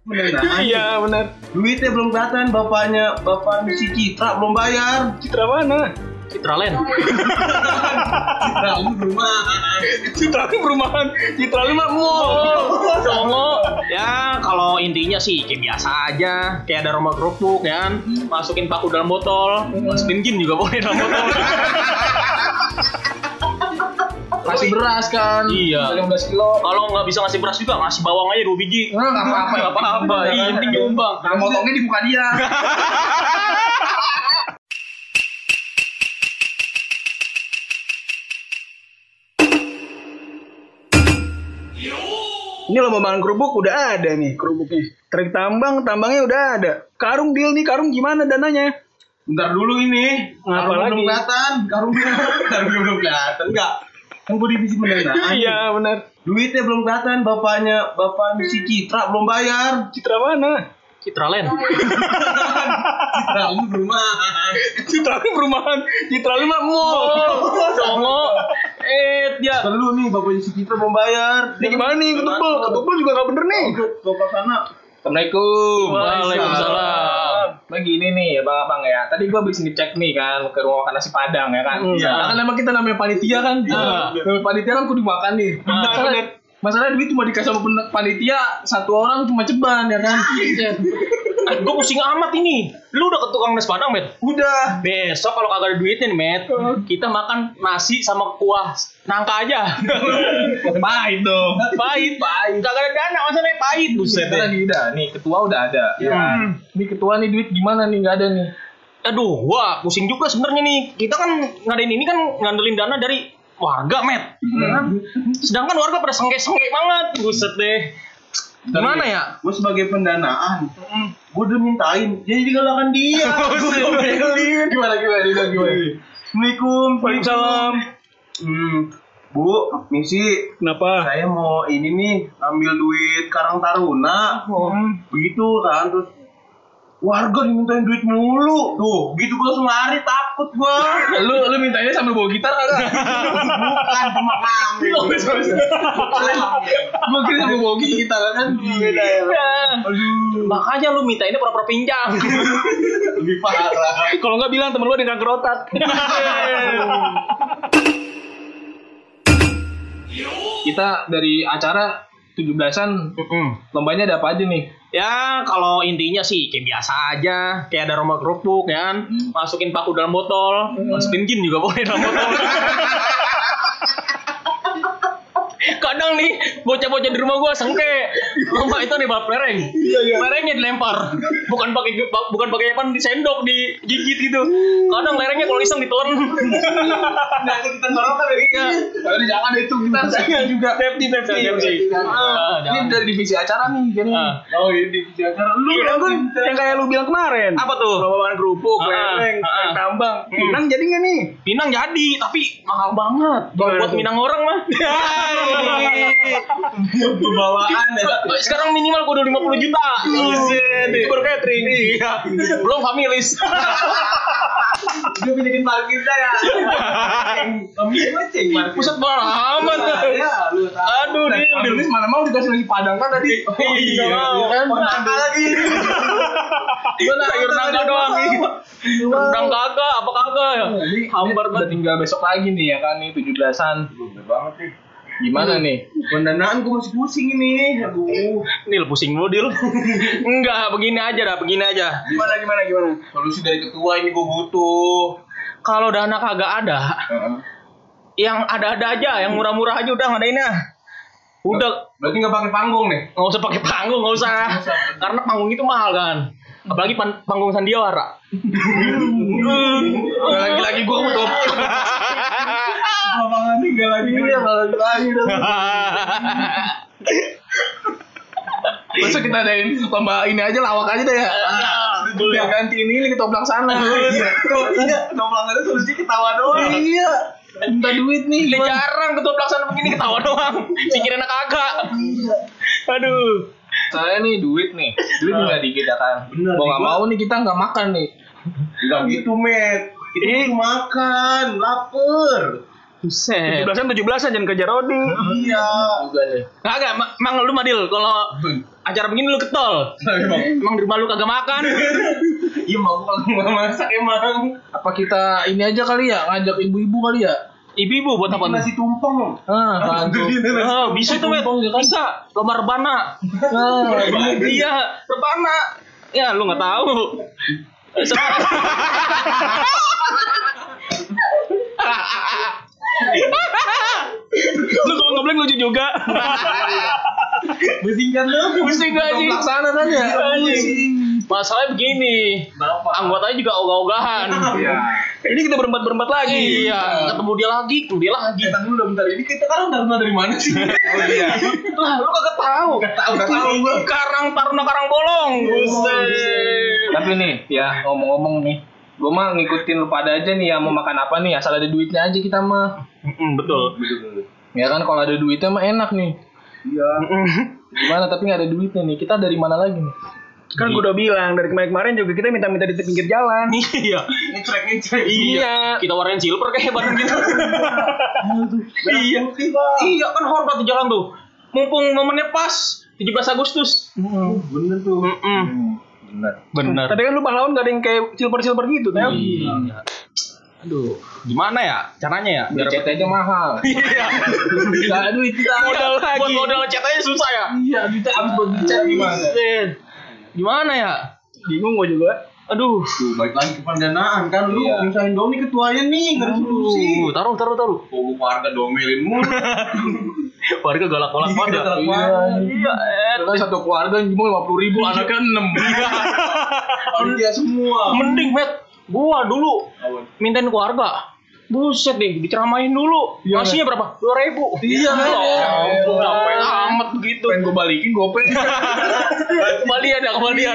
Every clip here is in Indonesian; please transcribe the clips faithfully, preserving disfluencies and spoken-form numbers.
pendanaan. Iya benar. Duitnya belum kelihatan, bapaknya bapak si Citra belum bayar. Citra mana? Citra Land. Citra lu perumahan. Citra ini perumahan. Citra ini mah mall. Songo. Ya kalau intinya sih kayak biasa aja. Kayak ada rumah kerupuk kan. Masukin paku dalam botol. Masukin gin juga boleh dalam botol. Kasih beras kan. Iya. lima belas kilo. Kalau nggak bisa ngasih beras juga ngasih bawang aja dua biji. Nah, nggak apa-apa. Nggak apa-apa. Iya, penting nyumbang. Nah, motongnya di muka dia. Ini lomba makan kerupuk udah ada nih kerupuknya. Trik tambang, tambangnya udah ada. Karung deal nih, karung gimana dananya? Bentar dulu ini. Ngapa Karung lagi? belum kelihatan. Karung karung belum kelihatan. Enggak. Kan gue divisi pendanaan. Iya benar. Duitnya belum kelihatan, bapaknya bapak si Citra belum bayar. Citra mana? Citra Land. Citra lu perumahan. Citra ini perumahan. Citra ini mah mall. Songo. Eh dia. Dulu nih bapaknya si Citra belum bayar. Ini gimana nih ketubel? Ketubel juga gak bener nih. Bapak sana. Assalamualaikum. Waalaikumsalam. Nah gini nih ya bang-bang ya. Tadi gua habis ngecek nih kan ke rumah makan nasi Padang ya kan. Iya. Nah, kan emang kita namanya panitia kan. Iya. Namanya panitia kan kudu makan nih. Masalah, masalah duit cuma dikasih sama pen- panitia satu orang cuma ceban ya kan. Eh, gue pusing amat ini. Lu udah ke tukang nasi Padang, Met? Udah. Besok kalau kagak ada duitnya nih, Met, kita makan nasi sama kuah nangka aja. Pahit dong. Pahit, pahit. Kagak ada dana, maksudnya pahit. Buset Kita deh. lagi udah. Nih ketua udah ada. Ya. Ini ketua nih duit gimana nih nggak ada nih. Aduh, wah pusing juga sebenarnya nih. Kita kan ngadain ini kan ngandelin dana dari warga, Met. Hmm. Sedangkan warga pada sengke-sengke banget. Buset deh. Gimana ya? Gue sebagai pendanaan, gue udah mintain, jadi digalakan dia. Gimana gimana gimana gimana. Assalamualaikum. Waalaikumsalam. Hmm, Bu, misi. Kenapa? Saya mau ini nih ambil duit Karang Taruna. Begitu kan, terus warga dimintain duit mulu. Tuh, gitu gue langsung lari, takut gue. Lu lu mintanya sambil bawa gitar kagak? Bukan, cuma ngambil. Gua kira sambil bawa gitar kan. Beda ya. Aduh. Makanya lu minta ini pura-pura pinjam. Lebih parah. Kalau enggak bilang temen lu ada kanker otak. Kita dari acara tujuh belasan lombanya ada apa aja nih? Ya kalau intinya sih kayak biasa aja. Kayak ada rumah kerupuk kan. Masukin paku dalam botol. Masukin gin juga boleh dalam botol. Kadang nih bocah-bocah di rumah gua sengke lomba itu nih balap lereng. Lerengnya dilempar. Bukan pakai bukan pakai apa di sendok digigit gitu. Kadang lerengnya kalau iseng ditelan. Nah, kita ngorokan ya. Iya. Kalau jangan itu kita saya juga safety safety. Ini dari divisi acara nih jadi. Oh, ini divisi acara. Lu Iya kan yang kayak lu bilang kemarin. Apa tuh? Lomba makan kerupuk, Ah, lereng, ah, ah. tambang. Pinang jadi nggak nih? Pinang jadi tapi mahal banget. Kalau Gimana buat tuh? minang orang mah. Pembawaan ya. Sekarang minimal kudu lima puluh juta. Buset, itu baru catering. Iya. Belum familis. Gue pindahin parkir dah ya. Kami ceng parkir. Buset banget amat. Ya, lu tahu. Aduh, Nah, dia Abdul mana mau dikasih nasi Padang kan tadi. Iya, kan. Nangka lagi. sayur nangka doang nih. Rendang kagak, apa kagak ya? Ini Hambar udah banget. tinggal besok lagi nih ya kan nih tujuh belasan. Bener banget nih. Gimana nih? Pendanaan gue masih pusing ini. Aduh. Nil pusing lu, Dil. Enggak, begini aja dah, begini aja. Gimana gimana gimana? Solusi dari ketua ini gue butuh. Kalau dana kagak ada, yang ada-ada aja, yang murah-murah aja udah ngadainnya. Udah, Berarti nggak pakai panggung nih? nggak usah pakai panggung, nggak usah. Karena panggung itu mahal kan. Apalagi pan- panggung sandiwara. Lagi-lagi gua butuh. Lapangan tinggal lagi. Iya, lagi lagi dong. Masa kita adain lomba ini aja lawak aja deh ya. Biar gantiin ini ketoprak sana. Iya. Iya. Nomlangannya solusi ketawa doang. Iya. Minta duit nih. Ini gimana? jarang ketua pelaksana begini ketawa doang. Pikirannya kagak. Aduh. Saya nih duit nih. Duit nggak dikit ya kan. Bener, Mau nggak nih, gua- mau nih kita nggak makan nih. Enggak gitu, Met. Kita mau makan, lapar. Buset. tujuh belasan tujuh belasan jangan kejar Rodi. Iya. Juga nih. Kagak, ma- Mang lu Madil kalau acara begini lu ketol. Emang di rumah lu kagak makan. Iya, mau kalau nggak masak emang. Apa kita ini aja kali ya, ngajak ibu-ibu kali ya? Ibu-ibu buat apa? Nasi tumpeng. Ah, kan tuh. Oh, bisa tuh, Met. Bisa. Lomba rebana. Iya, rebana. Ya, lu enggak tahu. Lu kalau ngebleng lucu juga. Pusing kan lu? Pusing gak sih? Pelaksana kan ya? Masalahnya begini, anggotanya juga ogah-ogahan. Iya. Ini kita berempat-berempat lagi. Iya, ketemu dia lagi, ketemu dia lagi. Kita dulu bentar ini kita kan dari dari mana sih? Oh iya. Lah, lu kagak tahu. Enggak tahu, enggak tahu gua. Karang Taruna Karang Bolong. Buset. Tapi nih, ya ngomong-ngomong nih, gue mah ngikutin lu pada aja nih ya mau makan apa nih, asal ada duitnya aja kita mah. Mm, betul. Ya kan kalau ada duitnya mah enak nih. Iya. Gimana tapi nggak ada duitnya nih, kita dari mana lagi nih? Kan gue udah bilang dari kemarin-kemarin juga kita minta-minta di pinggir jalan. Iya. Ngecek ngecek. Iya. Kita warnain silver kayak badan kita. Iya. Iya kan hormat di jalan tuh. Mumpung momennya pas tujuh belas Agustus. Bener tuh. Mm-mm. Bener. Bener. Tapi kan lu pahlawan gak ada yang kayak silver-silver gitu, Tel. Iya. Aduh, gimana ya caranya ya? Biar cat aja mahal. Iya. Gak ada duit kita. Modal lagi. Buat modal cat aja susah ya. Iya, duitnya habis buat cat gimana? Gimana ya? Bingung gue juga. Aduh. Tuh, balik lagi ke pendanaan kan lu Iya. misalnya Domi ketuanya nih, enggak ada solusi. Uh, taruh, taruh, taruh. Oh, warga domelin mulu. Warga galak-galak Iya, pada. galak Iya. Iya, eh. Kita satu keluarga cuma lima puluh ribu, anaknya enam. Dia semua. Mending, Met. Gua dulu Awan. mintain keluarga. Buset deh, diceramain dulu. Iya, Ngasihnya berapa? dua ribu. Iya, Ya ampun, iya. sampai amat begitu. Pengen gue balikin gope. Kembalian ya, kembalian.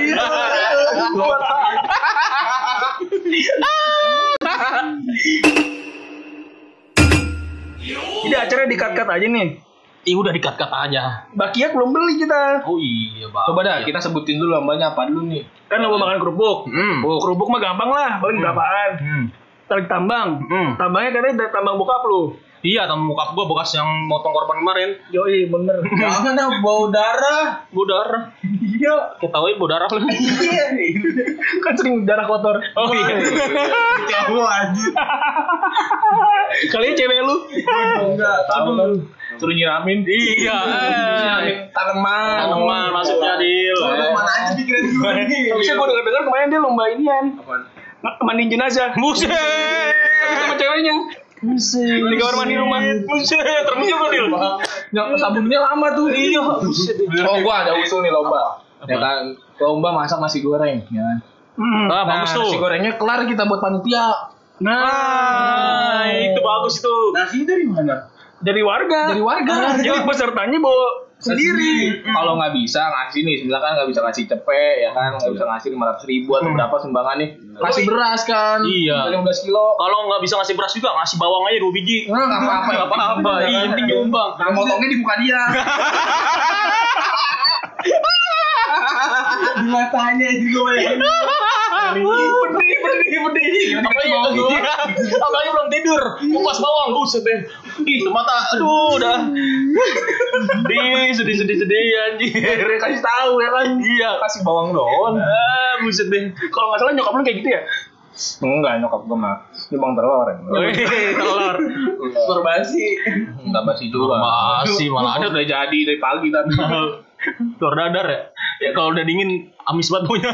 Jadi acaranya di-cut-cut aja nih. Ih, udah dikat-kat aja. Bakiak belum beli kita. Oh iya, Bang. Coba dah kita sebutin dulu lombanya apa dulu nih. Kan lo mau makan kerupuk. Hmm. Oh, kerupuk mah gampang lah, paling berapaan. Hmm. Tarik tambang. Hmm. Tambangnya katanya dari tambang bokap lu. Iya, temen bokap gua bekas yang motong korban kemarin. Yoi, bener. Jangan dah bau darah. Bau darah. Iya. Kita tahu bau darah lu. Iya. Kan sering darah kotor. Oh iya. Cewek aja. Kali cewek lu. Enggak, tahu kan. Suruh nyiramin. Iya. Nyiramin tanaman. Tanaman maksudnya, Dil. Mana aja pikiran gue nih. Habisnya gue denger-denger kemarin dia lomba inian. Apaan? Mandiin jenazah. Buset. Sama ceweknya. Buset. Di kamar mandi rumah. Buset. Termenyu lu, Dil. Yang sabunnya lama tuh. Iya. Buset. Oh, gua ada usul nih lomba. Ya kan, lomba masak nasi goreng, ya kan. Hmm. Ah, Nah, bagus tuh. nasi gorengnya kelar kita buat panitia. Nah, itu bagus itu. Nasi dari mana? Dari warga. Dari warga. Jadi pesertanya bawa sendiri. Kalau nggak bisa ngasih nih, misalkan nggak bisa ngasih cepet, ya kan, nggak bisa ngasih lima ratus ribu atau berapa sumbangan nih, kasih beras kan, Iya. lima belas kilo. Kalau nggak bisa ngasih beras juga, ngasih bawang aja dua biji. Nah, nggak apa-apa, Nggak apa-apa. Iya, penting nyumbang. Nah, motongnya di muka dia. Di matanya juga ya. Pedih, pedih, pedih. Apalagi, apalagi belum tidur. Kupas bawang, buset deh. Ih, mata, aduh, udah. Sedih, sedih, sedih, sedih, anjir. Kasih tahu ya kan. Iya. Kasih bawang doang. Ah, buset deh. Kalau nggak salah nyokap lu kayak gitu ya. Enggak, nyokap gue mah nyumbang telur. Wih, telur. Telur basi. Enggak basi juga. Masih, malah ada udah jadi dari pagi tadi. telur dadar ya. Ya kalau udah dingin, amis banget punya.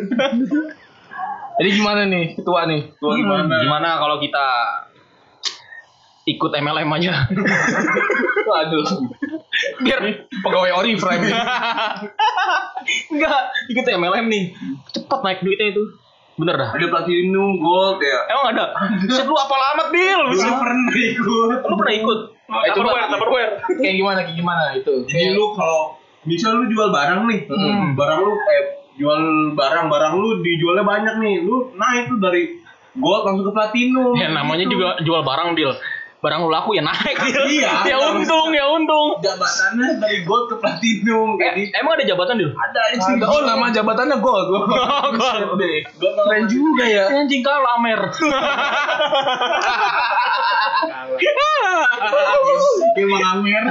Jadi gimana nih, ketua nih? Ketua gimana? Gimana kalau kita ikut M L M aja? Waduh. Biar Pegawai Oriflame. enggak ikut M L M nih. Cepat naik duitnya itu. Bener dah. Ada platinum, gold ya. Emang ada? Buset lu apa alamat, Bil? Gue pernah ikut. Lu pernah ikut? Eh, coba Tupperware, Tupperware. kayak gimana, kayak gimana itu? Jadi lu kalau misal lu jual barang nih, Hmm. barang lu eh jual barang-barang lu dijualnya banyak nih, lu naik tuh dari gold langsung ke platinum. Ya namanya Gitu. juga jual barang, Dil. Barang lu laku ya naik, Dil. Iya. Ya untung, ya untung. Jabatannya dari gold ke platinum. Jadi Eh, emang ada jabatan, Dil? ada sih. Ada, oh nama jabatannya gold. Oh, Gold Keren juga ya. Anjing kalah, Mer. Emang Amer.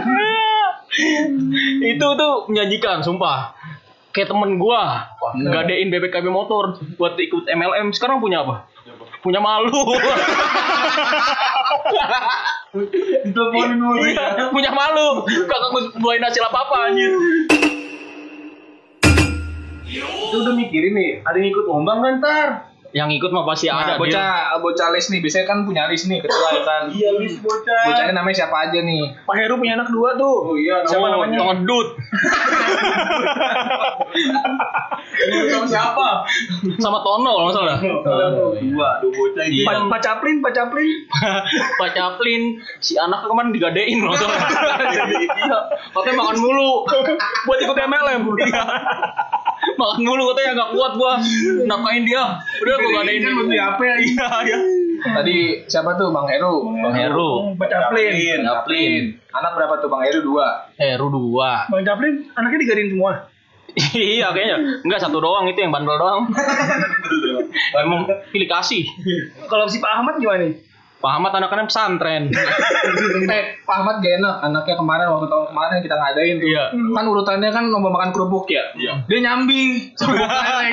Itu tuh menjanjikan, sumpah. Kayak temen gua gadein B B K B motor buat ikut M L M. Sekarang punya apa? Punya malu. Diteleponin dulu ya. Punya malu. Kagak buain hasil apa-apa anjir. Itu udah mikirin nih, ada yang ikut ngombang kan ntar? Yang ikut mah pasti Nah, ada. bocah bocah list nih, biasanya kan punya list nih ketua ya kan. Iya, list bocah. Bocahnya namanya siapa aja nih? Pak Heru punya anak dua tuh. Oh iya, Siapa nama- namanya? Tongedut. Sama siapa? Sama Tono kalau nggak salah. Dua, dua bocah ini. Iya. Pak Pak Caplin, Pak Caplin. Pak Caplin, si anak kemarin digadein loh. Iya, katanya makan mulu buat ikut M L M. Iya. Makan mulu katanya nggak kuat gua nafkain dia. Udah gua gadein Kan beli apa ya? Iya, iya. Tadi siapa tuh Bang Heru? Bang Heru. Pak Caplin. Caplin. Anak berapa tuh Bang Heru? Dua. Heru dua. Bang Caplin anaknya digadein semua. Iya kayaknya. Enggak satu doang itu yang bandel doang. Emang pilih kasih. Kalau si Pak Ahmad gimana nih? Pak Ahmad anak-anak pesantren. Eh, Pak Ahmad gak enak. Anaknya kemarin waktu tahun kemarin kita ngadain tuh. Iya. Kan urutannya kan lomba makan kerupuk ya. Iya. Dia nyambi sama kelereng.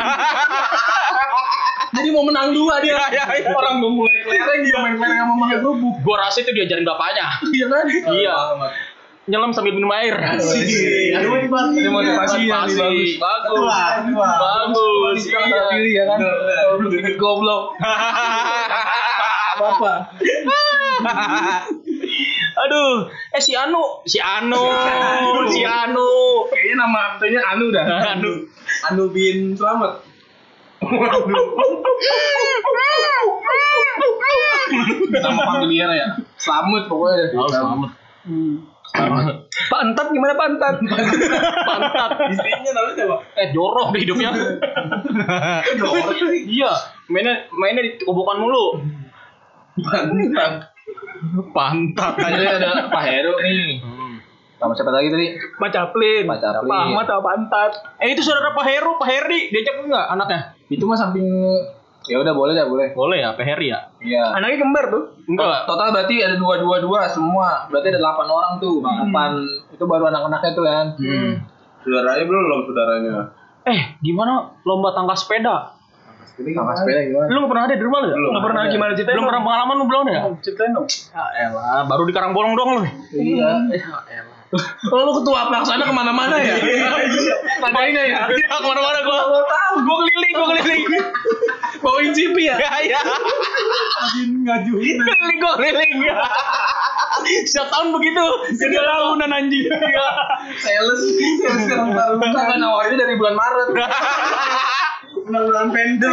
Jadi mau menang dua dia. Iya, iya, iya. Orang mau mulai kelereng dia main kelereng sama makan kerupuk. Gua rasa itu diajarin bapaknya. Iya kan? Iya. Nyelam sambil minum air. Ada motivasi. Ada motivasi yang bagus. Bagus. Dua. Bagus. Iya. Pilih ya kan. Belum dikit goblok. Apa? Aduh, eh si Anu, si Anu, si Anu. Kayaknya nama aktornya Anu dah. Anu. Anu bin Selamat. Nama familiar ya. Selamat pokoknya. Oh, selamat. Pak Entat gimana Pak Entat? Pantat. Istrinya namanya siapa? Eh jorok deh hidupnya. Iya, mainnya mainnya di kobokan mulu. Pantat. Pantat. Tadi ada Pak Heru nih. Sama siapa lagi tadi? Pak Caplin. Pak Caplin. Pak Ahmad sama Pak Entat. Eh itu saudara Pak Heru, Pak Herdi, diajak enggak anaknya? Itu mah samping. Ya udah boleh dah boleh. Boleh ya, Pak Heri ya? Iya. Anaknya kembar tuh. Enggak. Total berarti ada dua dua dua semua. Berarti ada delapan orang tuh. Delapan itu baru anak-anaknya tuh kan. Hmm. Saudaranya belum saudaranya. Eh, gimana lomba tangga sepeda? Sama sepeda gimana? Lu gak pernah ada di rumah lu ya? Belum. Nggak pernah gimana ceritain? Belum pernah pengalaman lu belum ya? Ceritain dong. Ya elah, baru di Karangbolong doang lu. Iya. Oh, lu ketua pelaksana kemana-mana ya? Ngapain ya? Iya, kemana-mana gua. Gua keliling, gua keliling. Bawain C P ya? Ya, iya. Ngajuin. Keliling, gua keliling. Setiap tahun begitu. Jadi lahunan anjing. Iya. Sales. Sales Karang Taruna. Kan nawarinnya dari bulan Maret. Bulan-bulan pendel.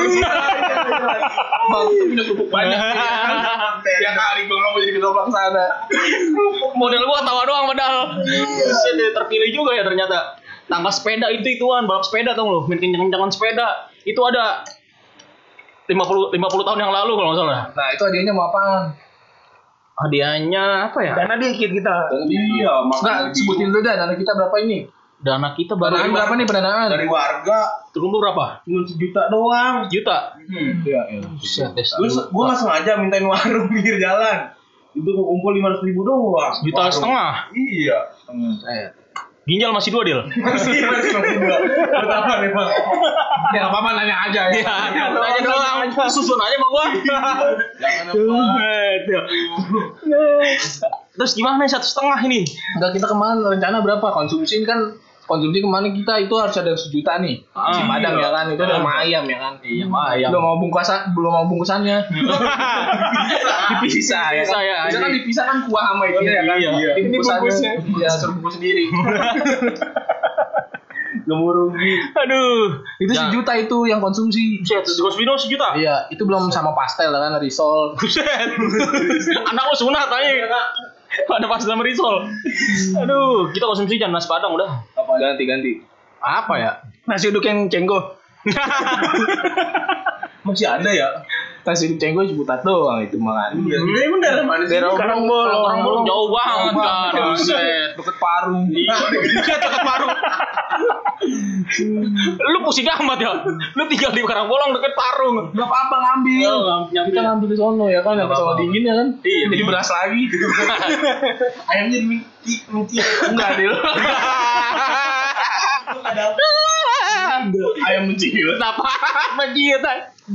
Bang, itu punya kerupuk banyak. Tiap hari gua nggak mau jadi ketua pelaksana. Model gua tawa doang padahal. Buset deh, terpilih juga ya ternyata. Tangga sepeda itu ituan, balap sepeda tuh lo, main kencang-kencangan sepeda. Itu ada lima puluh tahun yang lalu kalau nggak salah. Nah, itu hadiahnya mau apaan? Hadiahnya apa ya? Dana dikit kita. Iya, Nggak, makanya sebutin dulu dah, dana kita berapa ini? Dana kita baru Pendanaan berapa nih pendanaan? dari warga Terkumpul berapa? cuma sejuta doang. Juta. Iya, iya. Buset deh. Gue gue nggak sengaja mintain warung pinggir jalan. Itu gue kumpul lima ratus ribu doang. Juta Warung. setengah. Iya. Ginjal masih dua, Dil. Masih masih masih dua. Berapa nih bang? Ya nggak apa-apa nanya aja ya. Iya, tanya doang. Susun aja sama gua. Jangan apa. Terus gimana nih satu setengah ini? Enggak, kita kemarin rencana berapa? Konsumsi kan konsumsi kemarin kita itu harus ada sejuta nih. Ah, Si Padang iya. ya kan, itu ada sama ayam ya kan. Iya, sama ayam. Belum mau bungkusan, belum mau bungkusannya. Dipisah ya. Dipisah ya, Bisa kan anjing. dipisah kan kuah sama itu ya kan. Iya. Ini Ini bungkusnya. bungkusnya. Iya, suruh bungkus sendiri. Gak mau rugi. Aduh. Itu Ya. sejuta itu yang konsumsi. Buset, Gosvino sejuta. Iya, itu belum sama pastel kan, risol. Buset. Anak lu sunat aja. Ada pas sama risol. Aduh, kita konsumsi jangan nasi padang udah. Apa? Ganti-ganti. Apa ya? Nasi uduk yang cenggo. Masih ada ya? Nasi uduk cenggo sejuta doang itu makan. Iya. Ini emang daerah mana sih? Daerah Karang Bolong, bolong. bolong jauh banget kan. Buset. Deket Parung. Iya, deket baru. Lu pusing amat ya. Lu tinggal di Karangbolong deket Parung. Enggak apa-apa ngambil. Oh, Kita ngambil di sono ya kan, sampai sama dingin ya kan. Iya, Jadi beras lagi. Ayamnya minci, minci. Enggak, Dil. Ayam menciut. Kenapa? Menciut.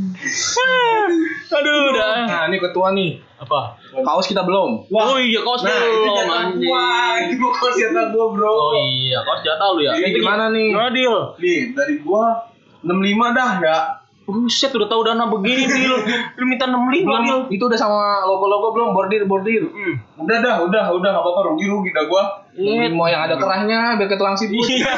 Aduh, udah. Nah, ini ketua nih. Apa? Kaos kita belum. Oh iya, kaos Nah, itu belum jatah anjing. gua. Itu kaos jatah gua, Bro. Oh iya, kaos jatah lu ya. Ini gimana nih? Gimana, Dil? Nih, dari gua enam puluh lima dah ya. Buset, udah tahu dana begini, Dil. Lu minta enam puluh lima, Dil. Belum, itu udah sama logo-logo belum? Bordir-bordir. Hmm. Udah dah, udah, udah enggak apa-apa rugi-rugi dah gua. Ini mau yang ada kerahnya biar ke tukang siput. Iya.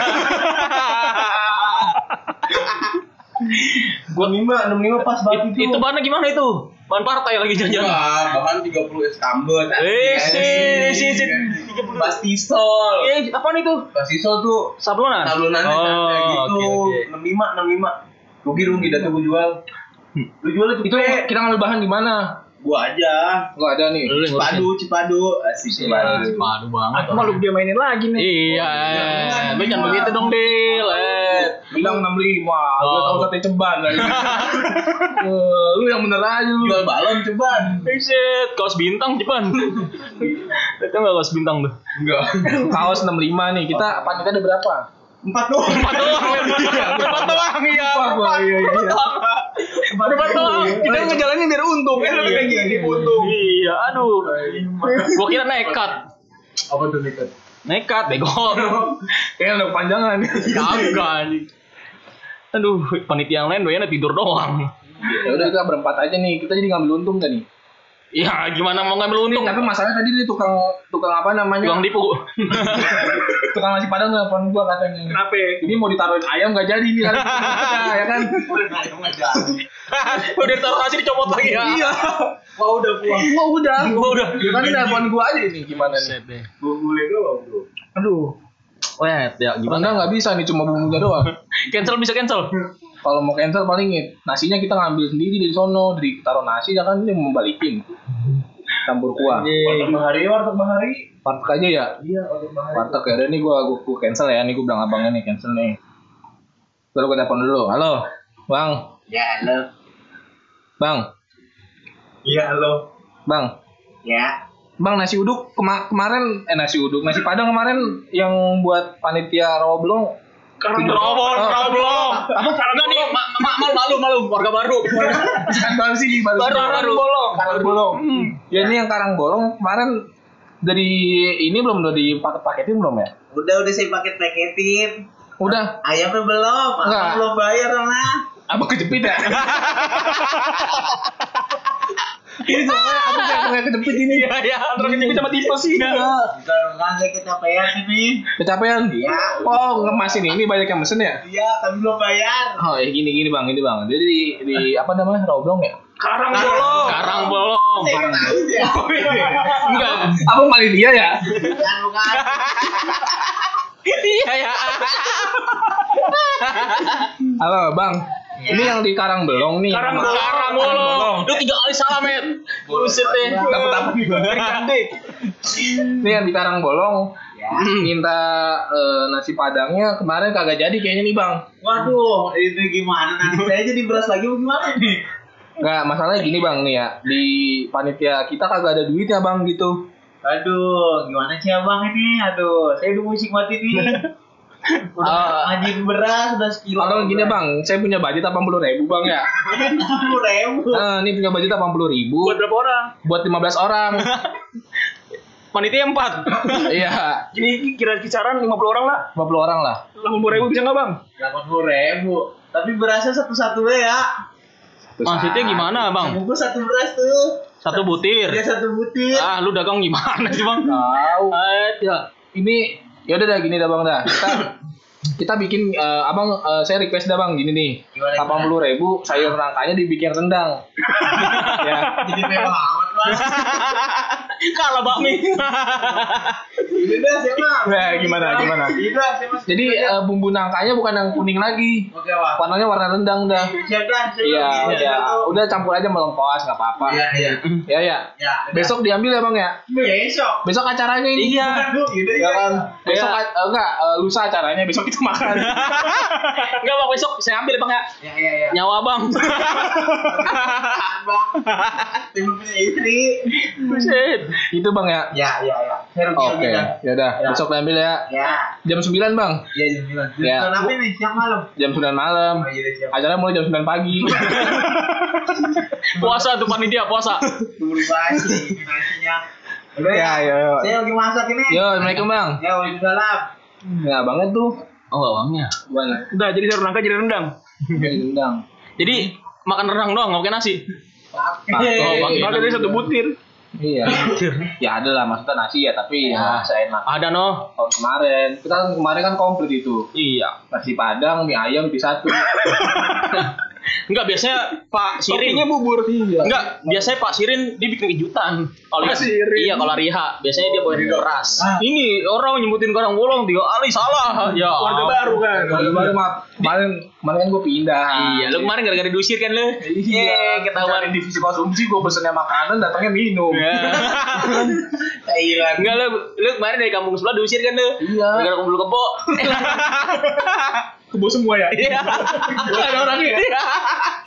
Gua lima, enam puluh lima pas banget itu. Itu bahannya gimana itu? Bahan partai lagi jangan-jangan. Wah, bahkan tiga puluh es kambet. Eh, sih, sih, sih. Pastisol. Eh, apaan itu? Pastisol tuh Sablonan? tablonannya Oh, kayak gitu. oke, oke. enam puluh lima, enam puluh lima. Rugi-rugi dah tuh gua jual. Lu jual Itu kita ngambil bahan di mana? gua aja. Enggak ada nih. Lu yang Cipadu, ngurusin. Cipadu. Asik Cipadu. Padu banget. Malu dia mainin lagi nih. Iya, lu jangan begitu dong, Dil. Eh. Bilang enam puluh lima, gua Oh. tahu sate ceban lagi. Eh, lu yang bener aja lu. Jual balon Ceban. Buset, kaos bintang Cepan. Itu enggak kaos bintang tuh. Enggak. Kaos enam puluh lima nih. Kita panitia ada berapa? Empat doang. Empat doang, empat doang, iya. Wah, iya iya. Empat doang. Kita ngejalanin biar untung. Eh, kayak gini untung. Iya, aduh. Gua kira nekat. Apa tuh nih? Nekat, bego. Kayaknya udah kepanjangan. Kagak anjing. Aduh, panitia yang lain doyan tidur doang. Ya udah kita berempat aja nih. Kita jadi ngambil untung kan nih. Ya, gimana mau ngambil untung? Tapi masalahnya tadi dia tukang tukang apa namanya? Tukang tipu. Tukang nasi padang nelfon gua katanya. Kenapa? Ini mau ditaruhin ayam gak jadi nih kan? Ya kan? Udah taruh nasi dicopot lagi ya. Iya. Wah udah puas. Gua udah. Gua udah. Ya kan nelfon gua aja ini gimana nih? Set deh. Gua boleh doang, Bro. Aduh. Wet, ya Gimana gimana? nggak bisa nih cuma bumbunya doang. Cancel bisa cancel. Kalau mau cancel paling nasinya kita ngambil sendiri dari sono, dari taruh nasi ya kan dia mau balikin. Campur kuah. Warteg Bahari, warteg Bahari. Warteg aja ya. Iya, warteg Bahari. Warteg ya. Udah nih gua, gua gua cancel ya. Nih gua bilang abangnya nih cancel nih. Baru gua telepon dulu. Halo, Bang. Ya, halo. Bang. Iya, halo. Bang. Ya. Bang, nasi uduk kema- kemarin eh nasi uduk, nasi padang kemarin yang buat panitia Roblong. Robol, robol. Apa enggak nih? Ma- ma- malu malu malu warga baru. Kan baru sih baru. Baru, baru. bolong. Karang bolong. Ya ini yang karang bolong kemarin dari ini belum udah dipaket-paketin belum ya? Udah udah saya paket-paketin. Udah. Ayamnya belum, Enggak. abang belum bayar lah. Apa kejepit ya? Ini soalnya aku kayak kayak kejepit ini. Iya ya, terus kejepit sama tipes sih. Bukan kan saya kecapean ini. Kecapean? Iya. Oh, ngemasin ini banyak yang mesen ya? Iya, tapi belum bayar. Oh, ya gini gini Bang, ini Bang. Jadi di, di apa namanya? Roblong ya? Karang bolong. Karang bolong. Saya nggak tahu ya. Enggak. Apa panitia ya? Bukan, bukan. Iya ya. Halo, Bang. Ini yang di Karang Belong nih. Karang bolong. Karang bolong. Lu tiga kali salah, Met. Buset deh. Dapat apa nih Bang? Ini yang di Karang Bolong. Minta eh, nasi padangnya kemarin kagak jadi kayaknya nih Bang. Waduh, itu gimana? Nanti saya jadi beras lagi gimana nih? Enggak, masalahnya gini Bang nih ya. Di panitia kita kagak ada duit ya Bang gitu. Aduh, gimana sih abang ini? Aduh, saya udah musik mati nih. Udah Ah. ngajin beras, udah sekilo. Kalau gini Bang, saya punya budget delapan puluh ribu Bang ya. enam puluh ribu. Nah, ini punya budget delapan puluh ribu Buat berapa orang? buat lima belas orang. Panitia empat. Iya, Jadi kira kisaran lima puluh orang lah. lima puluh orang lah. delapan puluh ribu bisa nggak bang? delapan puluh ribu. Tapi berasnya satu-satunya ya. Maksudnya gimana, Bang? Bungkus satu beras tuh. Satu butir. Dia satu butir. Ah, lu dagang gimana sih, Bang? Tahu. Eh, ya. Ini ya udah dah gini dah Bang dah. Kita kita bikin eh, Abang eh, saya request dah Bang gini nih. Gimana, delapan puluh ribu sayur nangkanya dibikin rendang. Ya. Jadi mewah amat, Bang. Kalah bakmi. Itu dah siapa? Nah, gimana gimana? Itu dah siapa? Jadi eh, bumbu nangkanya bukan yang kuning lagi. Oke, Pak. Warnanya warna rendang udah. Siap dah, siap. Iya, Siap, iya. siap. Udah campur aja sama lengkuas enggak apa-apa. Iya, iya. Ya ya. Ya. Besok diambil ya, Bang ya? besok. Besok acaranya ini. Iya. Aduh, gitu Ya kan? Iya. Besok a- eh, enggak eh, lusa acaranya, besok kita makan. Enggak bang, besok saya ambil bang ya. Ya, ya, ya. Nyawa bang. Bang. Tim punya istri. Buset. Itu Bang ya. Ya, ya, ya. Saya rugi Oke. dah. Ya udah, Ya. besok diambil ya. Ya. Jam sembilan, Bang. Ya, jam sembilan. Ya. Jam sembilan apa nih? Siang malam. Jam sembilan malam. Oh, iya, siap. Acaranya mulai jam sembilan pagi. Puasa tuh panitia puasa. Buru basi nasinya. Udah Ya, ya, ya. Saya lagi masak ini. Yo, Assalamualaikum, Bang. Ya, waalaikumsalam. Ya, banget tuh. Oh bangnya. Gimana? Udah jadi sayur nangka jadi rendang. Jadi rendang. Jadi makan rendang doang nggak pakai nasi. Oh, Bang. Maka dari satu butir. Iya. Ya ada lah maksudnya nasi ya, tapi ya saya enak. Ada no. Tahun kemarin, kita kan kemarin kan komplit itu. Iya. Nasi Padang, mie ayam di satu. Enggak, biasanya Pak Sirin. Toppingnya bubur. Iya. Enggak, biasanya Pak Sirin dia bikin kejutan. Kalau Pak Sirin. Iya, kalau hari H biasanya dia bawain beras. Ini orang nyebutin Karang Bolong tiga kali salah. Ya. Warga baru kan. Baru baru maaf. Kemarin kemarin kan gue pindah. Iya, lu kemarin gara-gara diusir kan lu? Iya, ketahuan divisi konsumsi gue pesennya makanan, datangnya minum. Iya. Thailand. Enggak lu, lu kemarin dari kampung sebelah diusir kan lu? Iya. Gara-gara kumpul kebo. Kebo semua ya. Iya. Ada orangnya. Iya.